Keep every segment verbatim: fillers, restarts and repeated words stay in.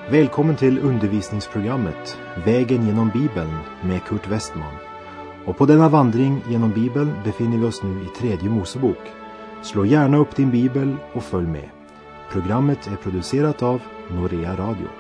Välkommen till undervisningsprogrammet Vägen genom Bibeln med Kurt Westman. Och på denna vandring genom Bibeln befinner vi oss nu i tredje Mosebok. Slå gärna upp din bibel och följ med. Programmet är producerat av Norea Radio.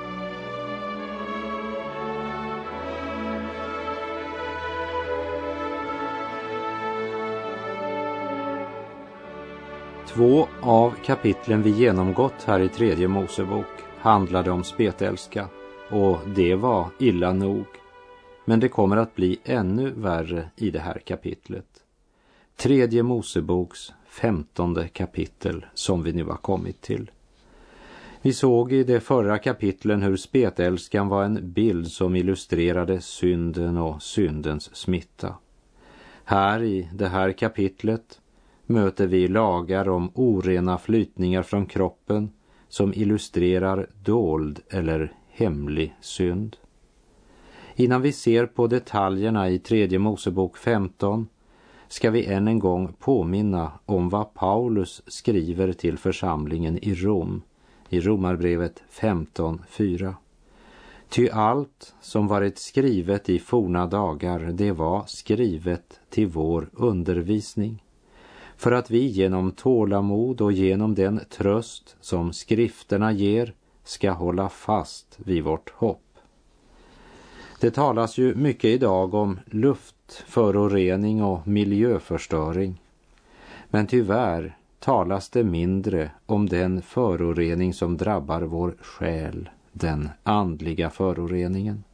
Två av kapitlen vi genomgått här i tredje Mosebok handlade om spetälska, och det var illa nog. Men det kommer att bli ännu värre i det här kapitlet. Tredje Moseboks femtonde kapitel som vi nu har kommit till. Vi såg i de förra kapitlen hur spetälskan var en bild som illustrerade synden och syndens smitta. Här i det här kapitlet möter vi lagar om orena flytningar från kroppen som illustrerar dold eller hemlig synd. Innan vi ser på detaljerna i tredje Mosebok femton ska vi än en gång påminna om vad Paulus skriver till församlingen i Rom i Romarbrevet femton fyra. Ty allt som varit skrivet i forna dagar, det var skrivet till vår undervisning, för att vi genom tålamod och genom den tröst som skrifterna ger ska hålla fast vid vårt hopp. Det talas ju mycket idag om luftförorening och miljöförstöring. Men tyvärr talas det mindre om den förorening som drabbar vår själ, den andliga föroreningen.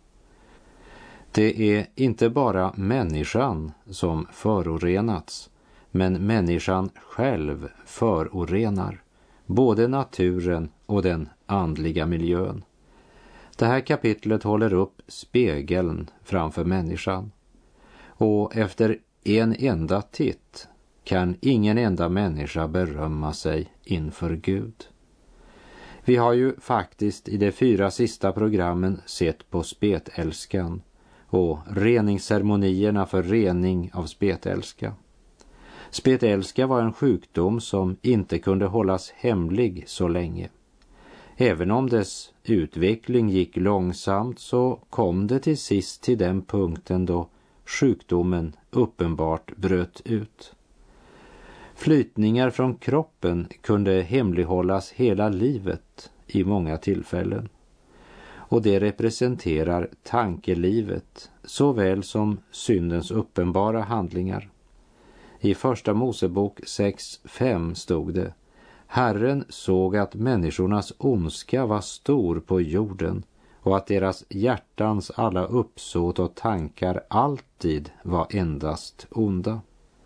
Det är inte bara människan som förorenats, men människan själv förorenar både naturen och den andliga miljön. Det här kapitlet håller upp spegeln framför människan. Och efter en enda titt kan ingen enda människa berömma sig inför Gud. Vi har ju faktiskt i de fyra sista programmen sett på spetälskan och reningsceremonierna för rening av spetälska. Spetälska var en sjukdom som inte kunde hållas hemlig så länge. Även om dess utveckling gick långsamt så kom det till sist till den punkten då sjukdomen uppenbart bröt ut. Flytningar från kroppen kunde hemlighållas hela livet i många tillfällen. Och det representerar tankelivet såväl som syndens uppenbara handlingar. I första Mosebok sex fem stod det: Herren såg att människornas ondska var stor på jorden och att deras hjärtans alla uppsåt och tankar alltid var endast onda.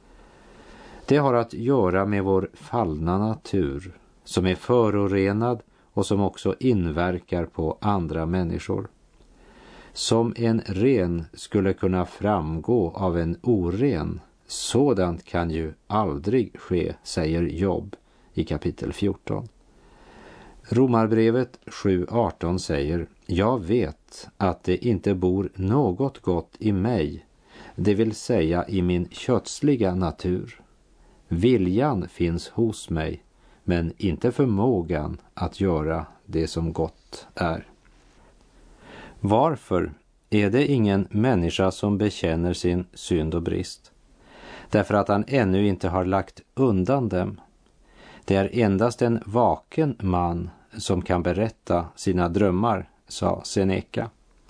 Det har att göra med vår fallna natur som är förorenad och som också inverkar på andra människor. Som en ren skulle kunna framgå av en oren, sådant kan ju aldrig ske, säger Jobb i kapitel fjorton. Romarbrevet sju arton säger: Jag vet att det inte bor något gott i mig, det vill säga i min kötsliga natur. Viljan finns hos mig, men inte förmågan att göra det som gott är. Varför är det ingen människa som bekänner sin synd och brist? Därför att han ännu inte har lagt undan dem. Det är endast en vaken man som kan berätta sina drömmar, sa Seneca.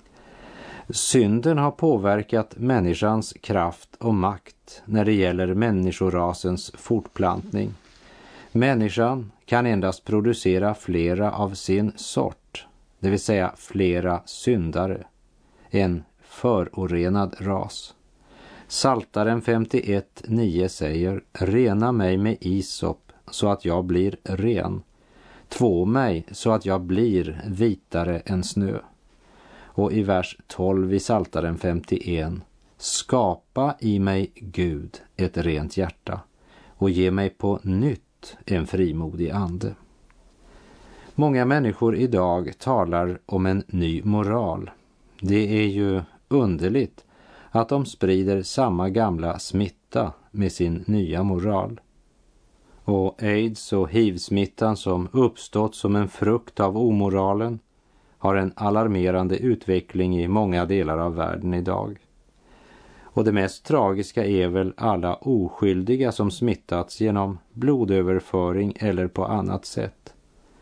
Synden har påverkat människans kraft och makt när det gäller människorasens fortplantning. Människan kan endast producera flera av sin sort, det vill säga flera syndare, en förorenad ras. Psaltaren femtioett nio säger: Rena mig med isop så att jag blir ren. Två mig så att jag blir vitare än snö. Och i vers tolv i Psaltaren femtioett: Skapa i mig, Gud, ett rent hjärta och ge mig på nytt en frimodig ande. Många människor idag talar om en ny moral. Det är ju underligt att de sprider samma gamla smitta med sin nya moral. Och aids och hiv-smittan som uppstått som en frukt av omoralen har en alarmerande utveckling i många delar av världen idag. Och det mest tragiska är väl alla oskyldiga som smittats genom blodöverföring eller på annat sätt.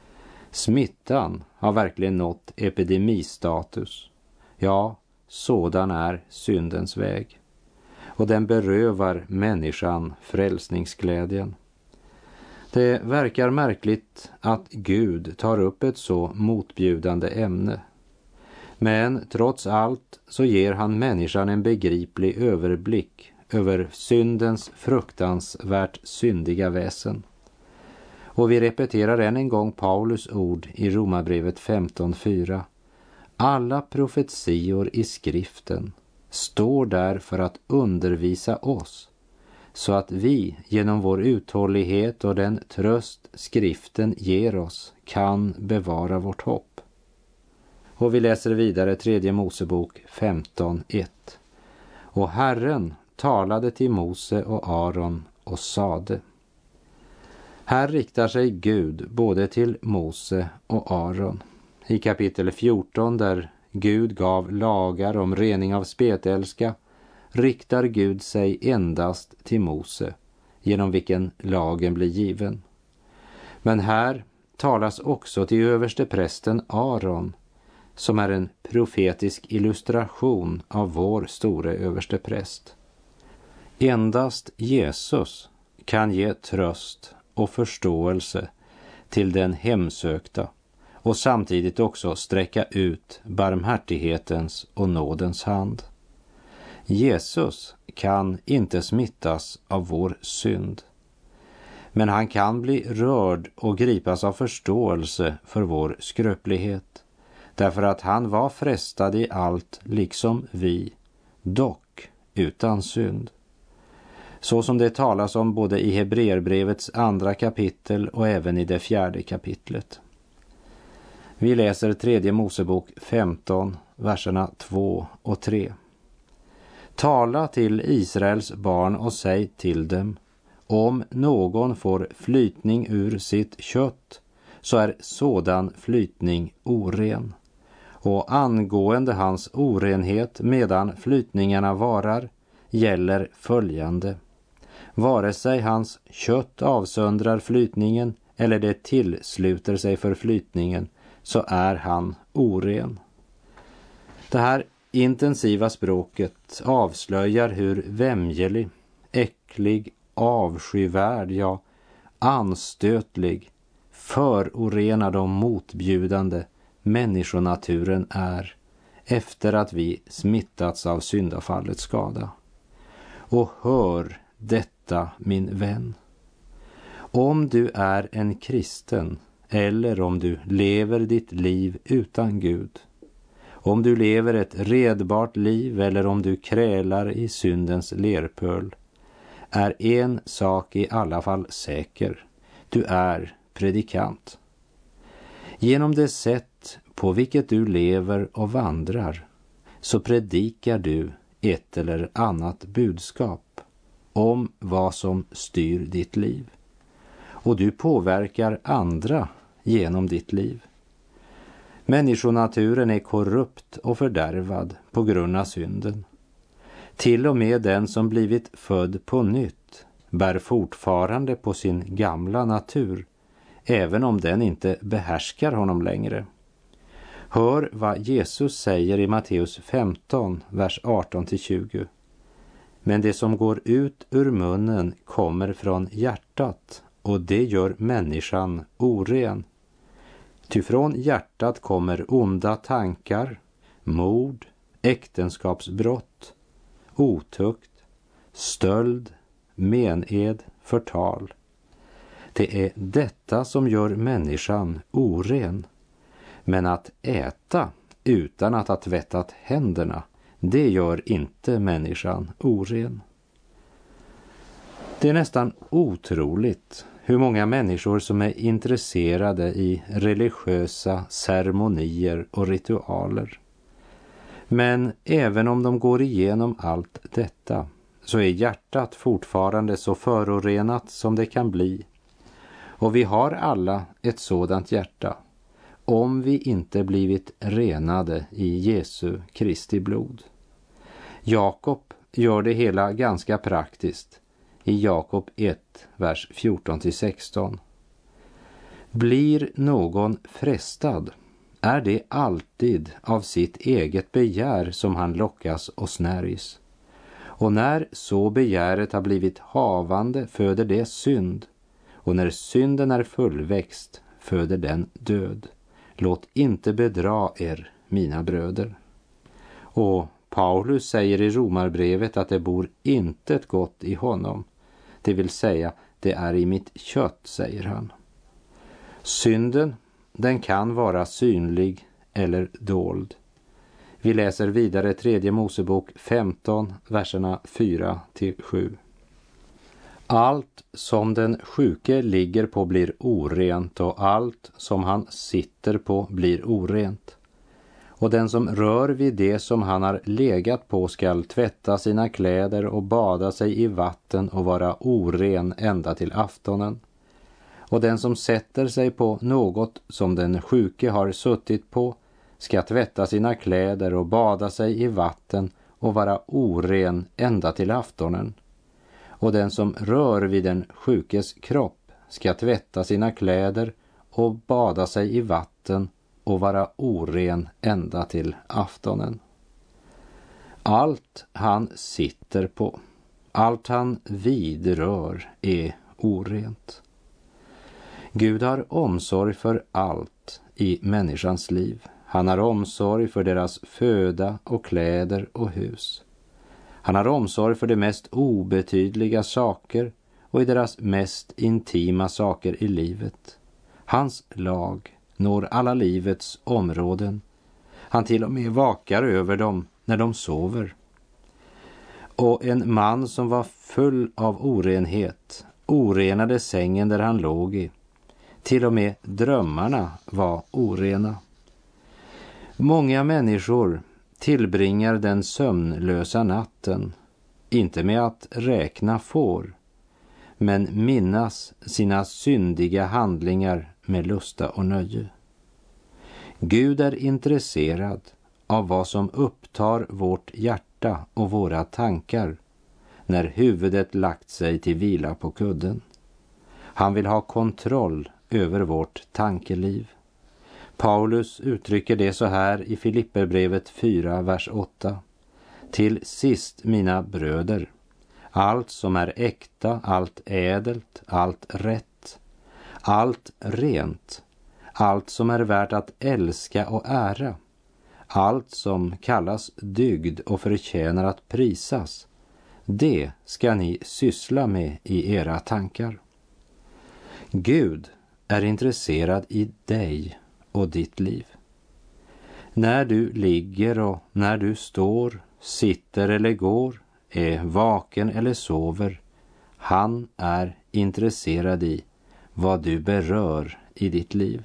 Smittan har verkligen nått epidemistatus. Ja, sådan är syndens väg. Och den berövar människan frälsningsglädjen. Det verkar märkligt att Gud tar upp ett så motbjudande ämne. Men trots allt så ger han människan en begriplig överblick över syndens fruktansvärt syndiga väsen. Och vi repeterar än en gång Paulus ord i Romarbrevet femton fyra. Alla profetior i skriften står där för att undervisa oss, så att vi genom vår uthållighet och den tröst skriften ger oss kan bevara vårt hopp. Och vi läser vidare tredje Mosebok femton ett. Och Herren talade till Mose och Aron och sade. Här riktar sig Gud både till Mose och Aron. I kapitel fjorton, där Gud gav lagar om rening av spetälska, riktar Gud sig endast till Mose, genom vilken lagen blir given. Men här talas också till översteprästen Aron, som är en profetisk illustration av vår store överstepräst. Endast Jesus kan ge tröst och förståelse till den hemsökta och samtidigt också sträcka ut barmhärtighetens och nådens hand. Jesus kan inte smittas av vår synd, men han kan bli rörd och gripas av förståelse för vår skröplighet, därför att han var frestad i allt liksom vi, dock utan synd. Så som det talas om både i Hebreerbrevets andra kapitel och även i det fjärde kapitlet. Vi läser tredje Mosebok femton, verserna två och tre. Tala till Israels barn och säg till dem, om någon får flytning ur sitt kött, så är sådan flytning oren. Och angående hans orenhet medan flytningarna varar gäller följande. Vare sig hans kött avsöndrar flytningen eller det tillsluter sig för flytningen, så är han oren. Det här intensiva språket avslöjar hur vämjelig, äcklig, avskyvärd, ja anstötlig, förorenad och motbjudande människonaturen är efter att vi smittats av syndafallets skada. Och hör detta, min vän. Om du är en kristen eller om du lever ditt liv utan Gud, om du lever ett redbart liv eller om du krälar i syndens lerpöl, är en sak i alla fall säker. Du är predikant. Genom det sätt på vilket du lever och vandrar så predikar du ett eller annat budskap om vad som styr ditt liv. Och du påverkar andra genom ditt liv. Människonaturen är korrupt och fördärvad på grund av synden. Till och med den som blivit född på nytt bär fortfarande på sin gamla natur, även om den inte behärskar honom längre. Hör vad Jesus säger i Matteus femton, vers arton till tjugo. Men det som går ut ur munnen kommer från hjärtat, och det gör människan oren. Ty från hjärtat kommer onda tankar, mord, äktenskapsbrott, otukt, stöld, mened, förtal. Det är detta som gör människan oren. Men att äta utan att ha tvättat händerna, det gör inte människan oren. Det är nästan otroligt hur många människor som är intresserade i religiösa ceremonier och ritualer. Men även om de går igenom allt detta så är hjärtat fortfarande så förorenat som det kan bli. Och vi har alla ett sådant hjärta. om vi inte blivit renade i Jesu Kristi blod. Jakob gör det hela ganska praktiskt i Jakob ett, vers fjorton till sexton. Blir någon frestad, är det alltid av sitt eget begär som han lockas och snärjs. Och när så begäret har blivit havande föder det synd, och när synden är fullväxt föder den död. Låt inte bedra er, mina bröder. Och Paulus säger i Romarbrevet att det bor intet gott i honom. Det vill säga, det är i mitt kött, säger han. Synden, den kan vara synlig eller dold. Vi läser vidare tredje Mosebok femton, verserna fyra till sju. Allt som den sjuke ligger på blir orent, och allt som han sitter på blir orent. Och den som rör vid det som han har legat på skall tvätta sina kläder och bada sig i vatten och vara oren ända till aftonen. Och den som sätter sig på något som den sjuke har suttit på ska tvätta sina kläder och bada sig i vatten och vara oren ända till aftonen. Och den som rör vid den sjukes kropp ska tvätta sina kläder och bada sig i vatten och vara oren ända till aftonen. Allt han sitter på, allt han vidrör är orent. Gud har omsorg för allt i människans liv. Han har omsorg för deras föda och kläder och hus. Han har omsorg för de mest obetydliga saker och i deras mest intima saker i livet. Hans lag når alla livets områden. Han till och med vakar över dem när de sover. Och en man som var full av orenhet orenade sängen där han låg i. Till och med drömmarna var orena. Många människor tillbringar den sömnlösa natten, inte med att räkna får, men minnas sina syndiga handlingar med lusta och nöje. Gud är intresserad av vad som upptar vårt hjärta och våra tankar när huvudet lagt sig till vila på kudden. Han vill ha kontroll över vårt tankeliv. Paulus uttrycker det så här i Filipperbrevet fyra, vers åtta. Till sist, mina bröder, allt som är äkta, allt ädelt, allt rätt, allt rent, allt som är värt att älska och ära, allt som kallas dygd och förtjänar att prisas, det ska ni syssla med i era tankar. Gud är intresserad i dig och ditt liv. När du ligger och när du står, sitter eller går, är vaken eller sover, han är intresserad i vad du berör i ditt liv.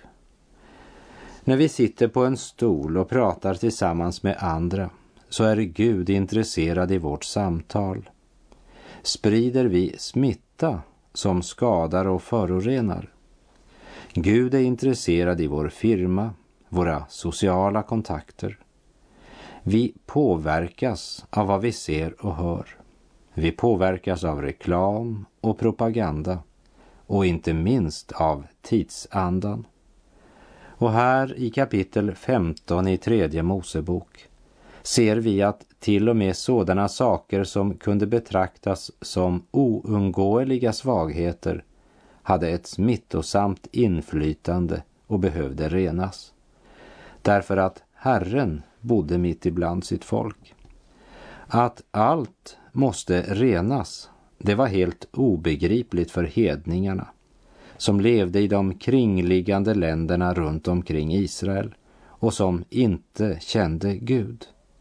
När vi sitter på en stol och pratar tillsammans med andra så är Gud intresserad i vårt samtal. Sprider vi smitta som skadar och förorenar? Gud är intresserad i vår firma, våra sociala kontakter. Vi påverkas av vad vi ser och hör. Vi påverkas av reklam och propaganda och inte minst av tidsandan. Och här i kapitel femton i tredje Mosebok ser vi att till och med sådana saker som kunde betraktas som oundgåeliga svagheter hade ett smittosamt inflytande och behövde renas. Därför att Herren bodde mitt ibland sitt folk. Att allt måste renas, det var helt obegripligt för hedningarna som levde i de kringliggande länderna runt omkring Israel och som inte kände Gud.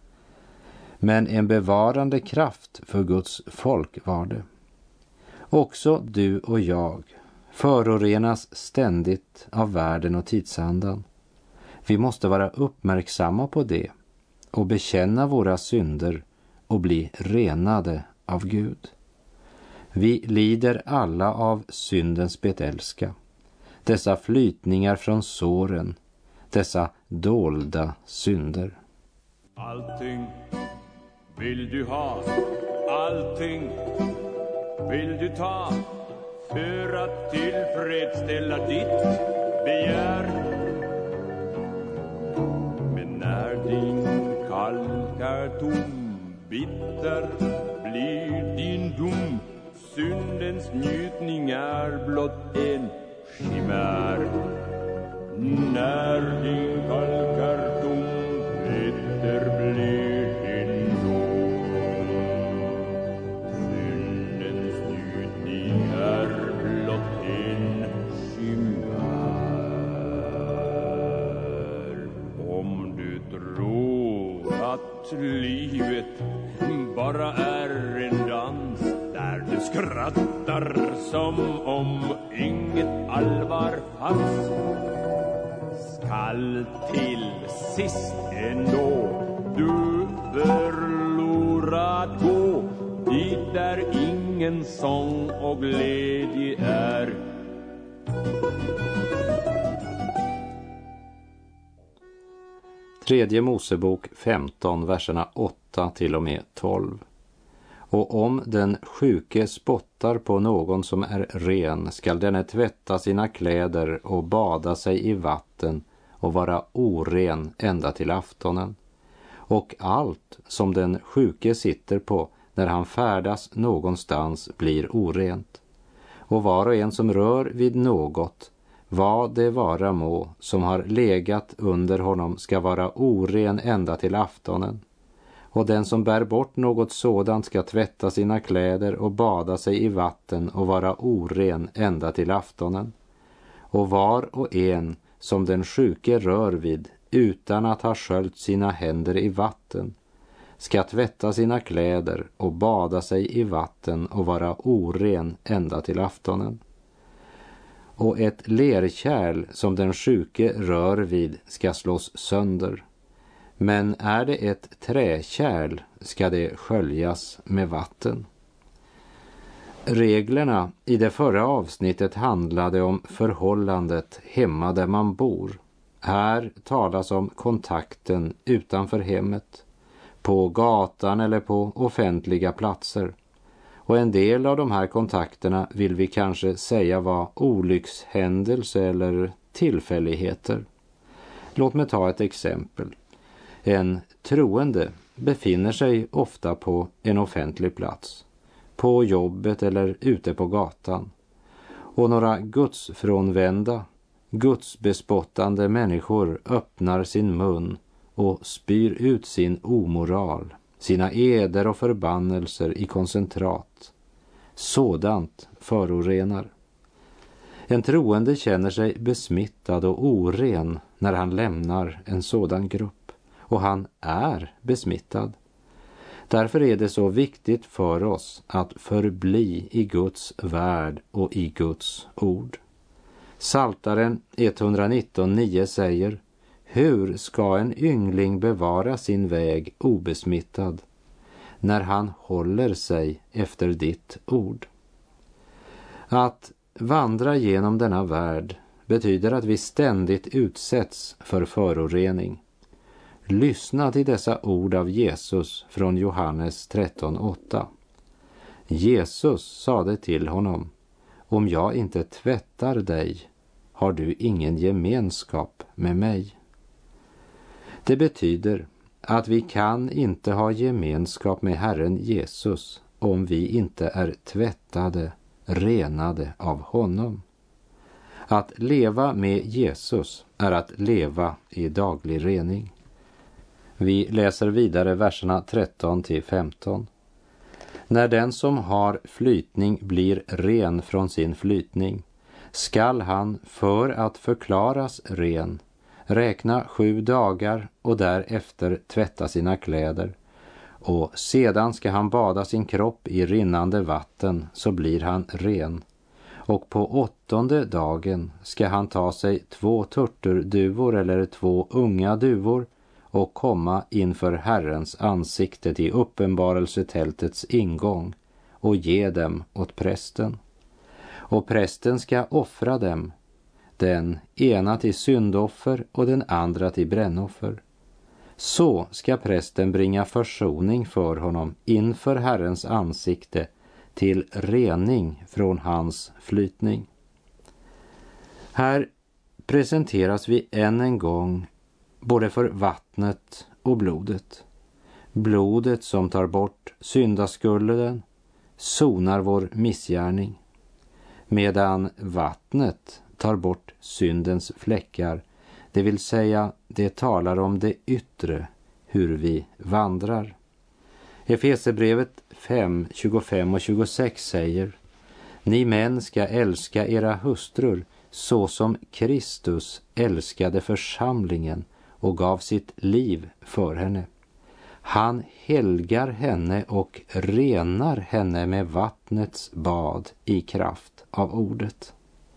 Men en bevarande kraft för Guds folk var det. Också du och jag förorenas ständigt av världen och tidsandan. Vi måste vara uppmärksamma på det och bekänna våra synder och bli renade av Gud. Vi lider alla av syndens spetälska, dessa flytningar från såren, dessa dolda synder. Allting vill du ha, allting vill du ta, för att tillfredsställa ditt begär. Men när din kalk är tom, bitter blir din dom. Syndens njutning är blott en chimär. När din kalk är tom, bitter blir din dom. Syndens njutning är blott en chimär. Om du tror att livet bara är en dans där du skrattar som om inget allvar fanns, skall till sist ändå du förlorad gå dit där ingen sång och glädje är. Tredje Mosebok femton, verserna åtta till och med tolv. Och om den sjuke spottar på någon som är ren, skall denne tvätta sina kläder och bada sig i vatten och vara oren ända till aftonen. Och allt som den sjuke sitter på när han färdas någonstans blir orent. Och var och en som rör vid något, vad det vara må, som har legat under honom, ska vara oren ända till aftonen. Och den som bär bort något sådant ska tvätta sina kläder och bada sig i vatten och vara oren ända till aftonen. Och var och en som den sjuke rör vid utan att ha sköljt sina händer i vatten ska tvätta sina kläder och bada sig i vatten och vara oren ända till aftonen. Och ett lerkärl som den sjuke rör vid ska slås sönder. Men är det ett träkärl ska det sköljas med vatten. Reglerna i det förra avsnittet handlade om förhållandet hemma där man bor. Här talas om kontakten utanför hemmet, på gatan eller på offentliga platser. Och en del av de här kontakterna vill vi kanske säga var olyckshändelse eller tillfälligheter. Låt mig ta ett exempel. En troende befinner sig ofta på en offentlig plats, på jobbet eller ute på gatan. Och några gudsfrånvända, gudsbespottande människor öppnar sin mun och spyr ut sin omoral, sina eder och förbannelser i koncentrat. Sådant förorenar. En troende känner sig besmittad och oren när han lämnar en sådan grupp. Och han är besmittad. Därför är det så viktigt för oss att förbli i Guds värld och i Guds ord. Psaltaren etthundranitton nio säger: hur ska en yngling bevara sin väg obesmittad när han håller sig efter ditt ord? Att vandra genom denna värld betyder att vi ständigt utsätts för förorening. Lyssna till dessa ord av Jesus från Johannes tretton åtta. Jesus sade till honom: om jag inte tvättar dig har du ingen gemenskap med mig. Det betyder att vi kan inte ha gemenskap med Herren Jesus om vi inte är tvättade, renade av honom. Att leva med Jesus är att leva i daglig rening. Vi läser vidare verserna tretton till femton. När den som har flytning blir ren från sin flytning, skall han för att förklaras ren räkna sju dagar och därefter tvätta sina kläder. Och sedan ska han bada sin kropp i rinnande vatten, så blir han ren. Och på åttonde dagen ska han ta sig två turturduvor eller två unga duvor och komma inför Herrens ansikte i uppenbarelsetältets ingång och ge dem åt prästen. Och prästen ska offra dem, den ena till syndoffer och den andra till brännoffer. Så ska prästen bringa försoning för honom inför Herrens ansikte till rening från hans flytning. Här presenteras vi än en gång både för vattnet och blodet. Blodet som tar bort syndaskulden sonar vår missgärning, medan vattnet tar bort syndens fläckar, det vill säga det talar om det yttre, hur vi vandrar. Efesierbrevet fem, tjugofem och tjugosex säger: Ni män ska älska era hustrur så som Kristus älskade församlingen och gav sitt liv för henne. Han helgar henne och renar henne med vattnets bad i kraft av ordet.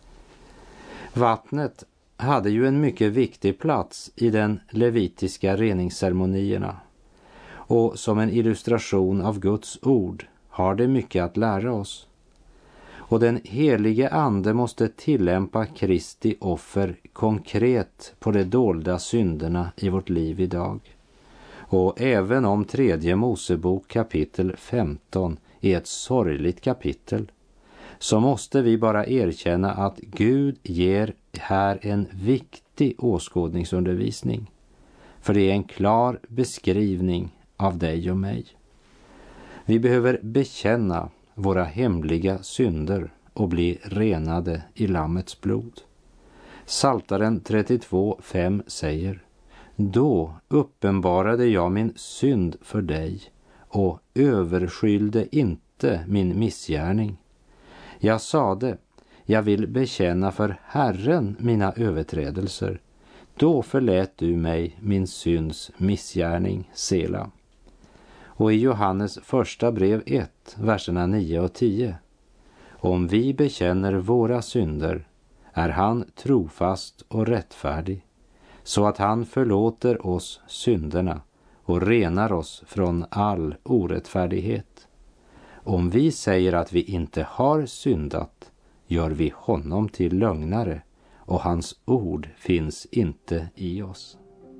Vattnet hade ju en mycket viktig plats i den levitiska reningsceremonierna, och som en illustration av Guds ord har det mycket att lära oss. Och den helige ande måste tillämpa Kristi offer konkret på de dolda synderna i vårt liv idag. Och även om tredje Mosebok kapitel femton är ett sorgligt kapitel, så måste vi bara erkänna att Gud ger här en viktig åskådningsundervisning. För det är en klar beskrivning av dig och mig. Vi behöver bekänna våra hemliga synder och bli renade i Lammets blod. Psaltaren trettiotvå fem säger: Då uppenbarade jag min synd för dig och överskyllde inte min missgärning. Jag sade, jag vill bekänna för Herren mina överträdelser. Då förlät du mig min synds missgärning, Sela. Och i Johannes första brev ett, verserna nio och tio. Om vi bekänner våra synder är han trofast och rättfärdig, så att han förlåter oss synderna och renar oss från all orättfärdighet. Om vi säger att vi inte har syndat, gör vi honom till lögnare, och hans ord finns inte i oss.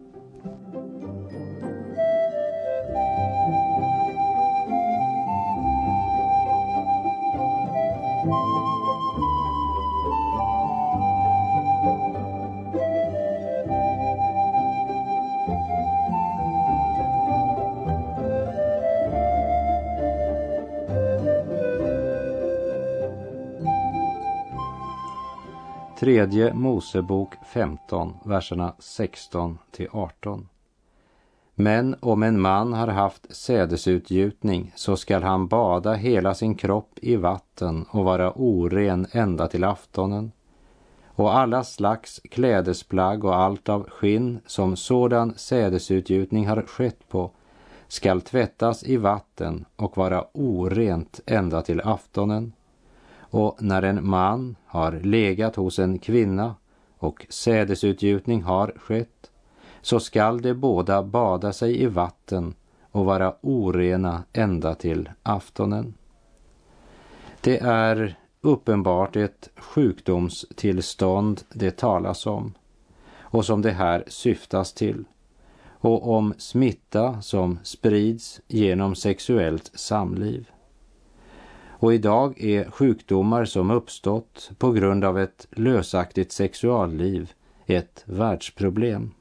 Tredje Mosebok femton, verserna sexton till arton. Men om en man har haft sädesutgjutning, så skall han bada hela sin kropp i vatten och vara oren ända till aftonen. Och alla slags klädesplagg och allt av skinn som sådan sädesutgjutning har skett på skall tvättas i vatten och vara orent ända till aftonen. Och när en man har legat hos en kvinna och sädesutgjutning har skett, så skall de båda bada sig i vatten och vara orena ända till aftonen. Det är uppenbart ett sjukdomstillstånd det talas om, och som det här syftas till, och om smitta som sprids genom sexuellt samliv. Och idag är sjukdomar som uppstått på grund av ett lösaktigt sexualliv ett världsproblem.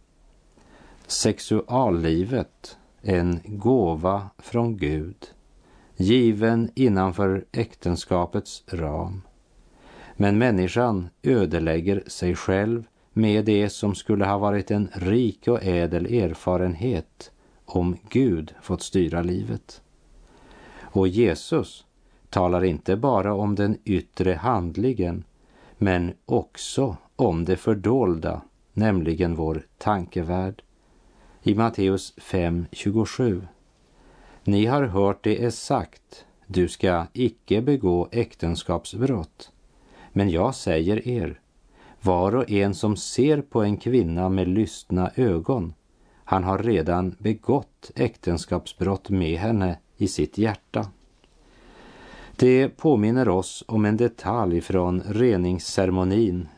Sexuallivet, en gåva från Gud, given innanför äktenskapets ram. Men människan ödelägger sig själv med det som skulle ha varit en rik och ädel erfarenhet om Gud fått styra livet. Och Jesus talar inte bara om den yttre handlingen, men också om det fördolda, nämligen vår tankevärld. I Matteus fem tjugosju. Ni har hört det är sagt, du ska icke begå äktenskapsbrott. Men jag säger er, var och en som ser på en kvinna med lystna ögon, han har redan begått äktenskapsbrott med henne i sitt hjärta. Det påminner oss om en detalj från reningsceremonin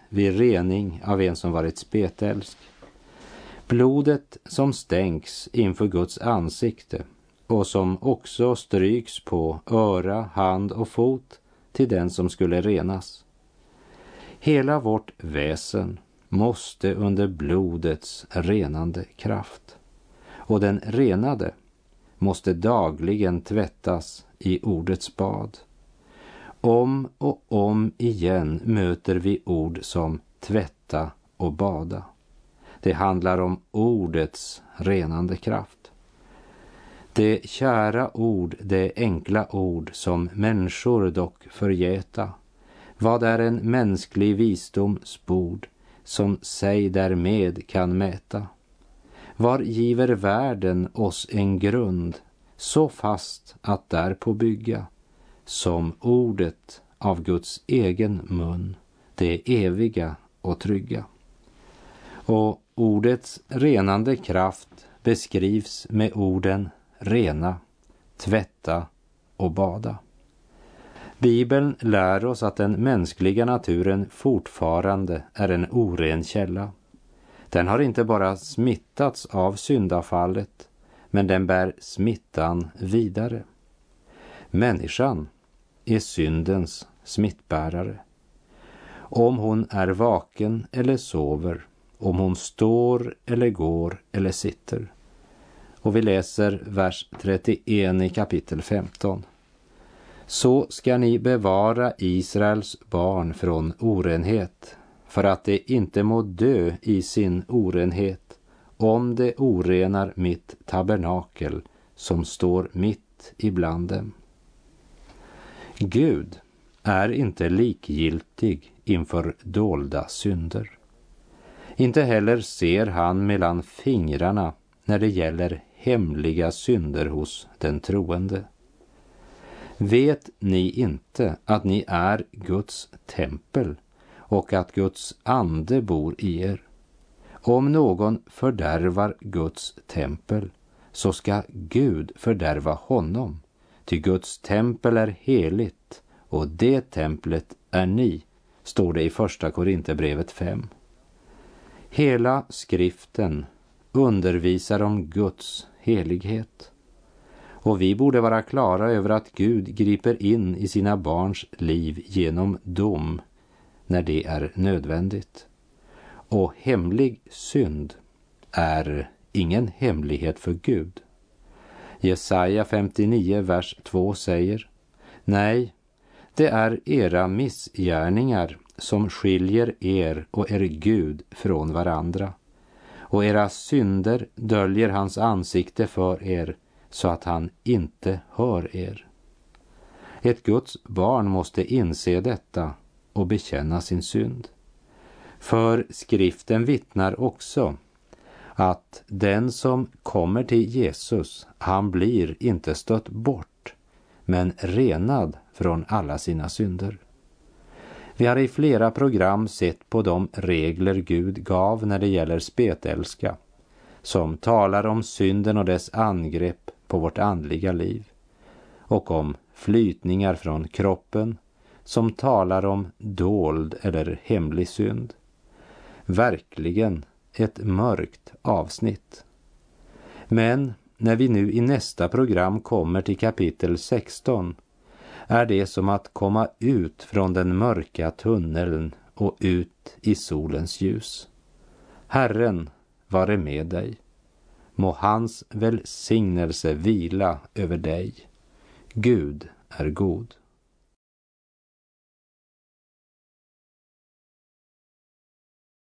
vid rening av en som varit spetälsk. Blodet som stänks inför Guds ansikte och som också stryks på öra, hand och fot till den som skulle renas. Hela vårt väsen måste under blodets renande kraft. Och den renade måste dagligen tvättas i ordets bad. Om och om igen möter vi ord som tvätta och bada. Det handlar om ordets renande kraft. Det kära ord, det enkla ord som människor dock förgäta. Vad är en mänsklig visdoms bord som sig därmed kan mäta? Var giver världen oss en grund så fast att därpå bygga, som ordet av Guds egen mun, det eviga och trygga. Och ordets renande kraft beskrivs med orden rena, tvätta och bada. Bibeln lär oss att den mänskliga naturen fortfarande är en oren källa. Den har inte bara smittats av syndafallet, men den bär smittan vidare. Människan är syndens smittbärare. Om hon är vaken eller sover, om hon står eller går eller sitter. Och vi läser vers trettioen i kapitel femton. Så ska ni bevara Israels barn från orenhet, för att det inte må dö i sin orenhet, om det orenar mitt tabernakel som står mitt ibland dem. Gud är inte likgiltig inför dolda synder. Inte heller ser han mellan fingrarna när det gäller hemliga synder hos den troende. Vet ni inte att ni är Guds tempel och att Guds ande bor i er? Om någon fördärvar Guds tempel, så ska Gud fördärva honom. Ty Guds tempel är heligt, och det templet är ni, står det i första Korinthierbrevet fem. Hela skriften undervisar om Guds helighet. Och vi borde vara klara över att Gud griper in i sina barns liv genom dom när det är nödvändigt. Och hemlig synd är ingen hemlighet för Gud. Jesaja femtionio vers två säger: Nej, det är era missgärningar som skiljer er och er Gud från varandra. Och era synder döljer hans ansikte för er, så att han inte hör er. Ett Guds barn måste inse detta och bekänna sin synd. För skriften vittnar också att den som kommer till Jesus, han blir inte stött bort, men renad från alla sina synder. Vi har i flera program sett på de regler Gud gav när det gäller spetälska, som talar om synden och dess angrepp på vårt andliga liv, och om flytningar från kroppen, som talar om dold eller hemlig synd. Verkligen ett mörkt avsnitt. Men när vi nu i nästa program kommer till kapitel sexton, är det som att komma ut från den mörka tunneln och ut i solens ljus. Herren vare med dig. Må hans välsignelse vila över dig. Gud är god.